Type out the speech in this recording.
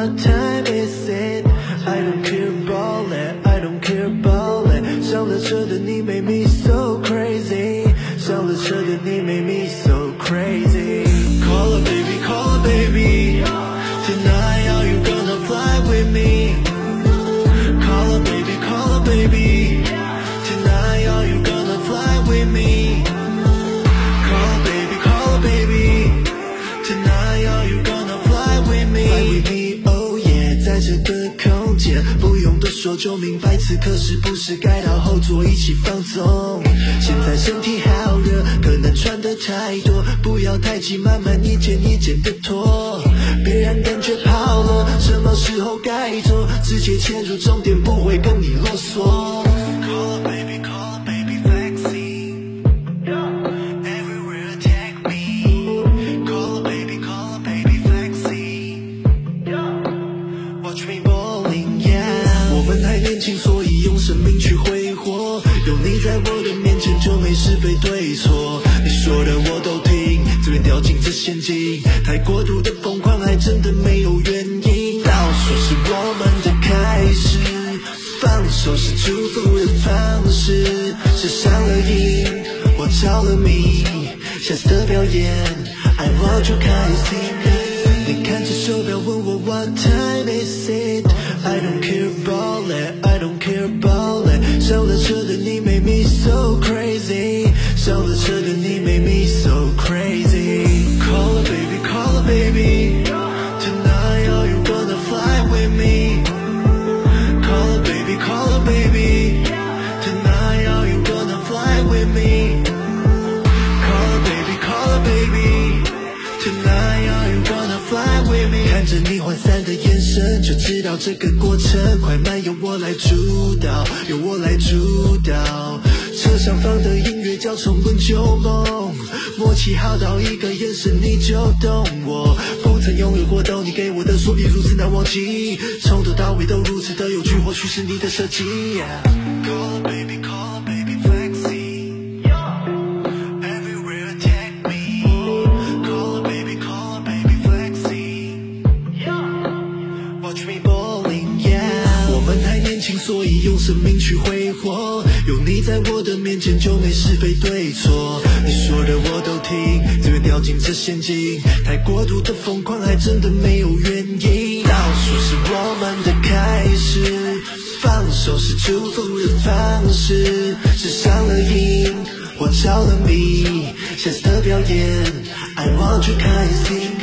what time is it? I don't care about it, I don't care about it. 上了车的你 make me so crazy， 上了车的你 make me so crazy。 Call her baby, call her baby, tonight are you gonna fly with me? Call her baby, call her baby, tonight are you gonna fly with me? Call her baby, call her baby, tonight are you gonna fly with me? Fly with me, oh yeah， 在这个空间不用多说就明白，此刻是不是该到后座一起放纵？现在身体好热，可能穿得太多，不要太急，慢慢一件一件的脱，别让感觉跑了，什么时候该做，直接切入重点，不会跟你啰嗦。Call her baby, call her baby, flexing, everywhere take me. Call her baby, call her baby, flexing, watch me balling, yeah。 我们还年轻，所以用生命去挥霍，有你在我的面前就没是非对错，你说的我都听，自愿掉进这陷阱，太过度的疯狂还真的没有原因。倒数是我们的开始，放手是祝福的方式，是上了瘾，我着了迷，下次的表演 I want you 开心。你看着手表问我 what time is it? I don't care about it, I don't care about it。 上了车的你 make me so crazy， 上了车的你 make me so crazy。 Call her baby, call her baby, tonight are you gonna fly with me? Call her baby, call her baby, tonight are you gonna fly with me? Call her baby, call her baby, tonight are you gonna fly with me? 看着你涣散的眼神，就知道这个过程快慢由我来主导，由我来主导。车上放的音乐叫重温旧梦，默契好到一个眼神你就懂我，不曾拥有过都你给我的，所以如此难忘记，从头到尾都如此的有趣，或许是你的设计。Call her baby, call her baby, flexing, everywhere take me. Call her baby, call her baby, flexing, watch me balling, yeah。 我们还年轻，所以用生命去挥霍，有你在我的面前就没是非对错，你说的我都听，自愿掉进这陷阱，太过度的疯狂还真的没有原因。倒数是我们的开始，放手是祝福的方式，是上了瘾，我着了迷，下次的表演 I want you 开心。